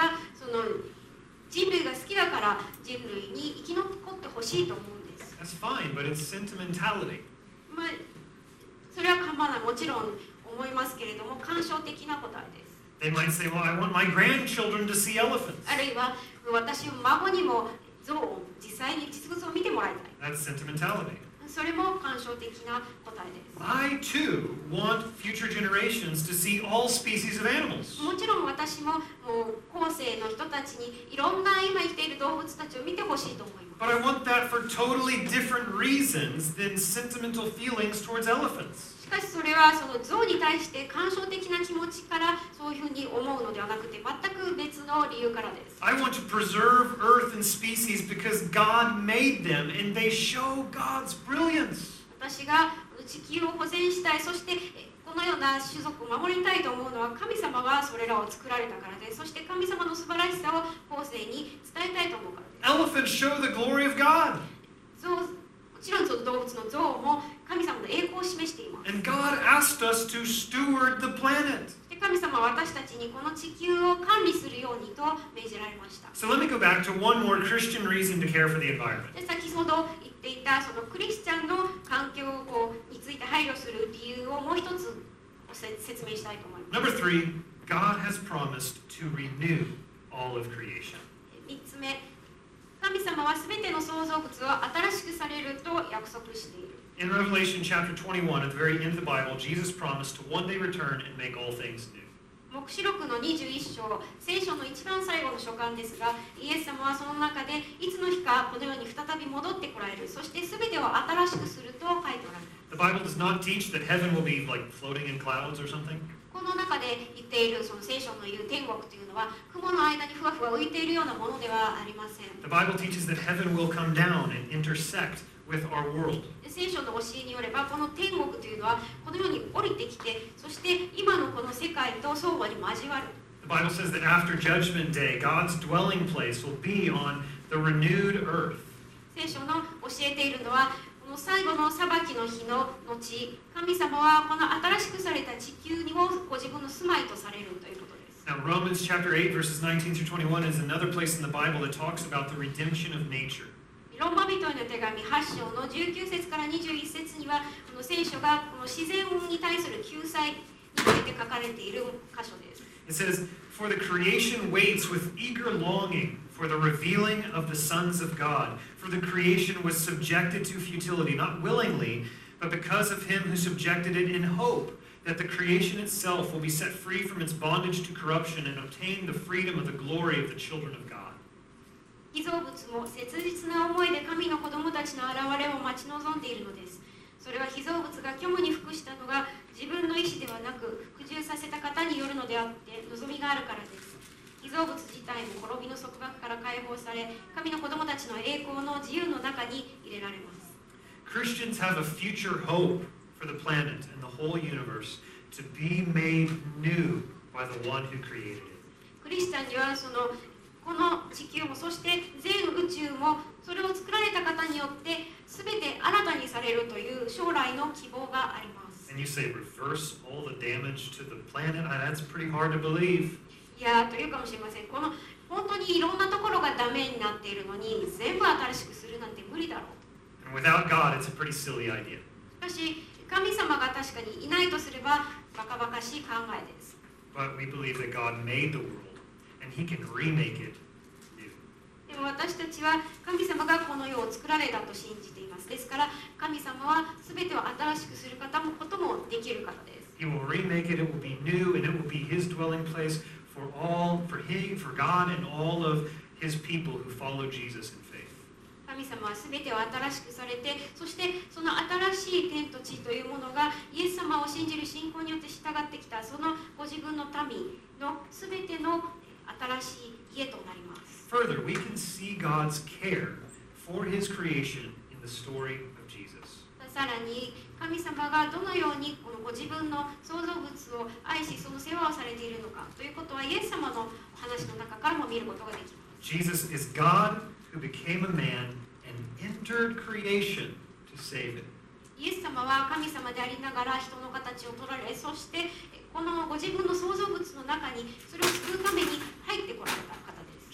の人類が好きだから人類に生き残ってほしいと思うんです。 That's fine, but it's sentimentality. まあ、それは構わない、もちろん思いますけれども、感傷的な答えです。 They might say, well, I want my grandchildren to see elephants. あるいは私の孫にも象を実際に実物を見てもらいたい。 That's sentimentality. それも感傷的な答えです。 I too want future generations to see all species of animals. もちろん私ももう後世の人たちにいろんな今生きている動物たちを見てほしいと思います。 But I want that for totally different reasons than sentimental feelings towards elephants. しかしそれはその象に対して感傷的な気持ちからそういうふうに思うのではなくて全く別の理由からです。 I want to preserve Earth and species because God made them and they show God's brilliance. 私が地球を保全したい、そしてこのような種族を守りたいと思うのは神様がそれらを作られたからです。そして神様の素晴らしさを後世に伝えたいと思うからです。 Elephants show the glory of God. 象、もちろんその動物の象も神様の栄光を示しています。 And God asked us to steward the planet. で神様は私たちにこの地球を管理するようにと命じられました。 So let me go back to one more Christian reason to care for the environment. で先ほど言っていたそのクリスチャンの環境について配慮する理由をもう一つ説明したいと思います。 Number three, God has promised to renew all of creation. みっつめ、神様はすべての創造物を新しくされると約束している。 In Revelation chapter twenty-one, at the very end of the Bible, Jesus promised to one day return and make all things new. 黙示録のにじゅういっ章、聖書の一番最後の書簡ですが、イエス様はその中でいつの日かこの世に再び戻ってこられる、そしてすべてを新しくすると書いておられる。 The Bible does not teach that heaven will be like floating in clouds or something. この中で言っているその聖書の言う天国というのは雲の間にふわふわ浮いているようなものではありません。 The Bible teaches that heaven will come down and intersect with our world. 聖書の教えによればこの天国というのはこのように降りてきて、そして今のこの世界と相互に交わる。 The Bible says that after Judgment Day, God's dwelling place will be on the renewed earth. 聖書の教えているのはこの最後の裁きの日の後、神様はこの新しくされた地球にもご自分の住まいとされるということです。 Now, Romans chapter eight, verses nineteen through twenty-one is another place in the Bible that talks about the redemption of nature. ローマ人への手紙はち章のじゅうきゅう節からにじゅういち節にはこの聖書がこの自然に対する救済について書かれている箇所です。 It says, For the creation waits with eager longing for the revealing of the sons of God. For the creation was subjected to futility, not willingly, but because of him who subjected it in hope that the creation itself will be set free from its bondage to corruption and obtain the freedom of the glory of the children of God. 被造物も切実な思いで神の子供たちの現れを待ち望んでいるのです。それは被造物が虚無に服したのが自分の意思ではなく服従させた方によるのであって望みがあるからです。被造物自体も滅びの束縛から解放され、神の子供たちの栄光の自由の中に入れられます。 Christians have a future hope for the planet and the whole universe to be made new by the one who created it. クリスチャンにはそのこの地球もそして全宇宙もそれを作られた方によって全て新たにされるという将来の希望があります。 And you say, reverse all the damage to the planet? That's pretty hard to believe. いやーというかもしれません。この本当にいろんなところがダメになっているのに全部新しくするなんて無理だろう。 And without God, it's a pretty silly idea. しかし神様が確かにいないとすればバカバカしい考えです。 But we believe that God made the world and he can remake it new. でも私たちは神様がこの世を作られたと信じています。ですから神様は全てを新しくする方もこともできるからです。 He will remake it, it will be new, and it will be his dwelling place for all, for he, for God and all of his people who follow Jesus in faith. 神様は全てを新しくされて、そしてその新しい天と地というものがイエス様を信じる信仰によって従ってきたそのご自分の民の全ての新しい家となります。 Further, we can see God's care for his creation in the story of Jesus. さらに神様がどのようにこのご自分の創造物を愛しその世話をされているのかということはイエス様の話の中からも見ることができます。 Jesus is God who became a man and entered creation to save it. イエス様は神様でありながら人の形を取られ、そしてこのご自分の創造物の中にそれを救うために入ってこられた方です。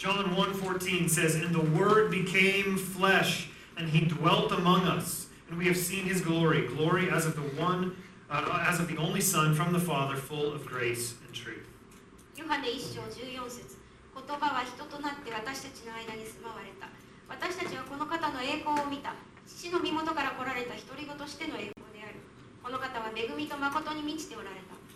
John one fourteen says, "And the Word became flesh, and He dwelt among us, and we have seen His glory, glory as of the one, uh, as of the only Son from the Father, full of grace and truth." ヨハネいっ章じゅうよん節、言葉は人となって私たちの間に住まわれた。私たちはこの方の栄光を見た。父の身元から来られた独り子としての栄光である。この方は恵みと誠に満ちておられた。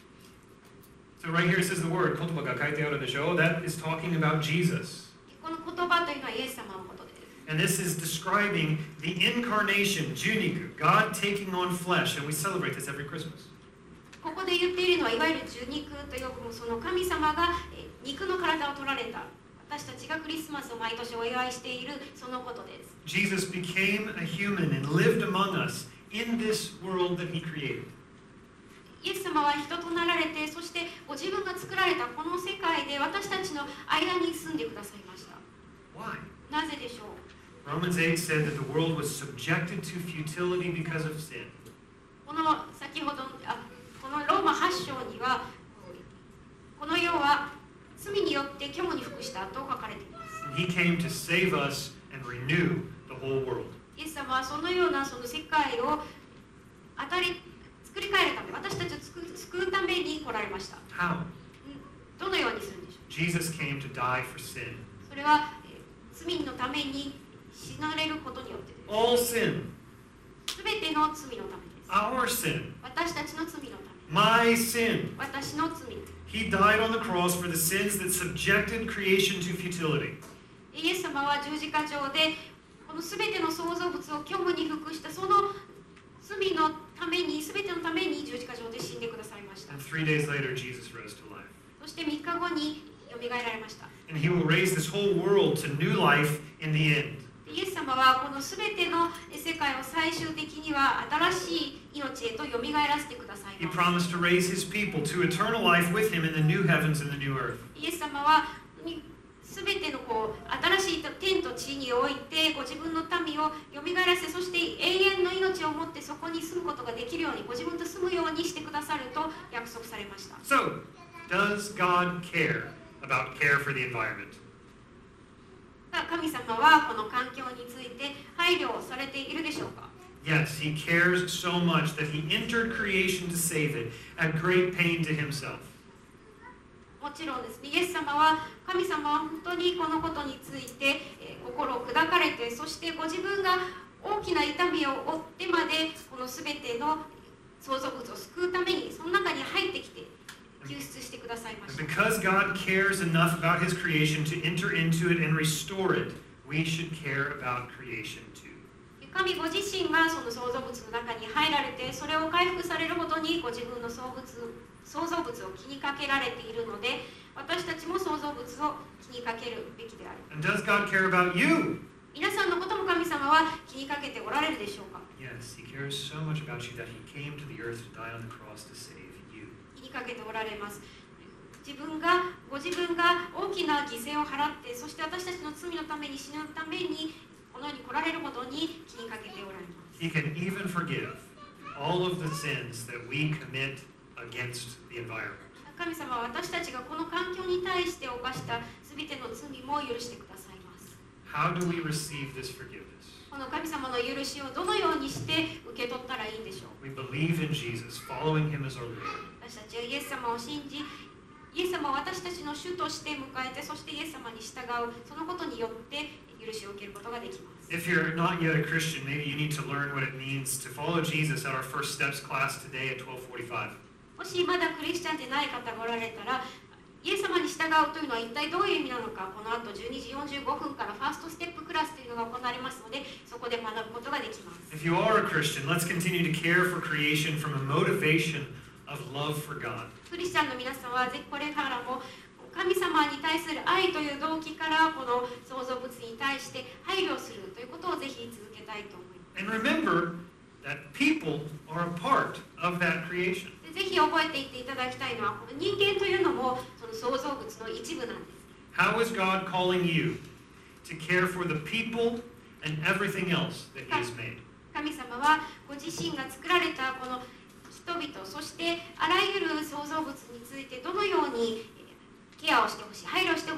So right here it says the word, 言葉が書いてあるでしょ? That is talking about Jesus. この言葉というのはイエス様のことです。 And this is describing the incarnation, Juniku, God taking on flesh, and we celebrate this every Christmas. ここで言っているのは、いわゆる受肉と呼ぶその神様がえ肉の体を取られた。私たちがクリスマスを毎年お祝いしているそのことです。 Jesus became a human and lived among us in this world that He created. イエス様は人となられて、そしてご自分が作られたこの世界で私たちの間に住んでくださいました。 Why? なぜでしょう？ Romans eight said that the world was subjected to futility because of sin. この先ほどあこのローマはち章には、この世は罪によって虚無に服したと書かれています。 And He came to save us and renew the whole world. イエス様はそのようなその世界を当たり作り変えるため、私たちを救う救うために来られました。 How? どのようにするんでしょう？ Jesus came to die for sin. それは、えー、罪のために死なれることによってです。 All sin. すべての罪のためです。 Our sin. 私たちの罪のため。 My sin. 私の罪。 He died on the cross for the sins that subjected creation to futility. イエス様は十字架上でこのすべての創造物を虚無に服したその罪のために、すべてのために十字架上で死んでくださいました。 And three days later, Jesus rose to life. そしてみっかごによみがえられました。 And He will raise this whole world to new life in the end. イエス様はこのすべての世界を最終的には新しい命へとよみがえらせてください He ます。 promised to raise His people to eternal life with Him in the new heavens and the new earth. イエス様はすべてのこう新しい天と地においてご自分の民をよみがえらせ、そして永遠の命を持ってそこに住むことができるように、ご自分と住むようにしてくださると約束されました。 So, does God care about care for the environment? 神様はこの環境について配慮をされているでしょうか？ Yes, He cares so much that He entered creation to save it at great pain to Himself. もちろんですね、イエス様は神様は本当にこのことについて、えー、心を砕かれて、そしてご自分が大きな痛みを負ってまでこのすべての創造物を救うためにその中に入ってきて救出してくださいました。 Because God cares enough about His creation to enter into it and restore it, we should care about creation too. 神ご自身がその創造物の中に入られて、それを回復されるほどにご自分の創物創造物を気にかけられているので、私たちも創造物を気にかけるべきである。 And does God care about you? 皆さんのことも神様は気にかけておられるでしょうか？ Yes, He cares so much about you that He came to the earth to die on the cross to save you. 気にかけておられます。自分がご自分が大きな犠牲を払って、そして私たちの罪のために死ぬためにこの世に来られるほどに気にかけておられます。 He can even forgive all of the sins that we commit against the environment. 神様は私たちがこの環境に対して犯したすべての罪も許してくださいます。 How do we receive this forgiveness? この神様の許しをどのようにして受け取ったらいいんでしょう？ We believe in Jesus, following Him as our Lord. 私たちはイエス様を信じ、イエス様を私たちの主として迎えて、そしてイエス様に従う、そのことによって許しを受けることができます。 If you're not yet a Christian, maybe you need to learn what it means to follow Jesus at our First Steps class today at twelve forty-five. もしまだクリスチャンでない方がおられたら、イエス様に従うというのは一体どういう意味なのか、この後じゅうにじよんじゅうごふんからファーストステップクラスというのが行われますので、そこで学ぶことができます。 If you are a Christian, let's continue to care for creation from a motivation of love for God. クリスチャンの皆さんはぜひこれからも神様に対する愛という動機からこの創造物に対して配慮するということをぜひ続けたいと思います。 And remember that people are a part of that creation. ぜひ覚えていっていただきたいのは、この人間というのもその創造物の一部なんです。 How is God calling you to care for the people and everything else that He has made? 神様はご自身が作られたこの人々、そしてあらゆる創造物についてどのようにケアをしてほしい、配慮してほ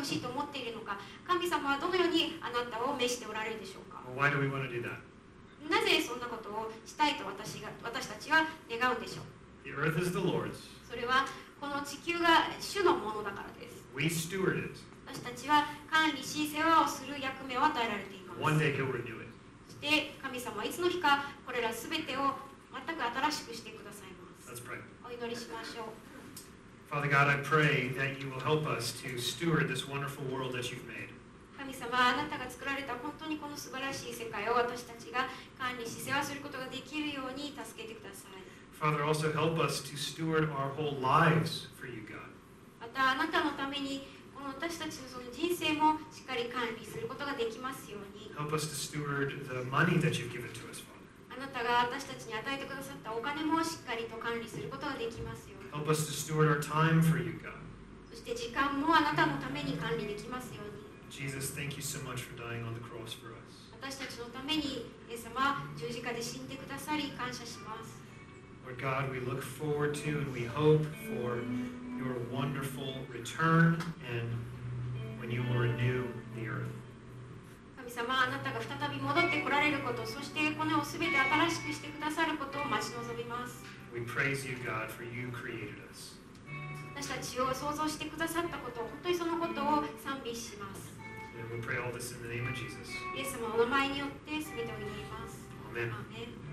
ほしいと思っているのか、神様はどのようにあなたを召しておられるでしょうか。 Well, why do we want to do that? なぜそんなことをしたいと私が私たちは願うんでしょう。 The earth is the Lord's. それはこの地球が主のものだからです。 We steward it. 私たちは管理し世話をする役目を与えられています。 One day He'll renew it. そして神様はいつの日かこれらすべてを全く新しくしてくださいます。 Let's pray. お祈りしましょう。 Father God, I pray that you will help us to steward this wonderful world that you've made. 神様、あなたが作られた本当にこの素晴らしい世界を私たちが管理し世話することができるように助けてください。 Father, also help us to steward our whole lives for you, God. またあなたのためにこの私たちのその人生もしっかり管理することができますように。 Help us to steward the money that you've given to us, Father. あなたが私たちに与えてくださったお金もしっかりと管理することができますように。 Help us to steward our time for you, God. そして時間もあなたのために管理できますように。 Jesus, thank you so much for dying on the cross for us. 私たちのためにイエス様十字架で死んでくださり感謝します。 Lord God, we look forward to and we hope for your wonderful return and when you will renew the earth. 神様、あなたが再び戻ってこられること、そしてこの世をすべて新しくしてくださることを待ち望みます。 We praise you, God, for you created us. 私たちを創造してくださったこと、本当にそのことを賛美します。 And we pray all this in the name of Jesus. イエス様のお名前によってすべてを祈ります。 Amen. アーメン。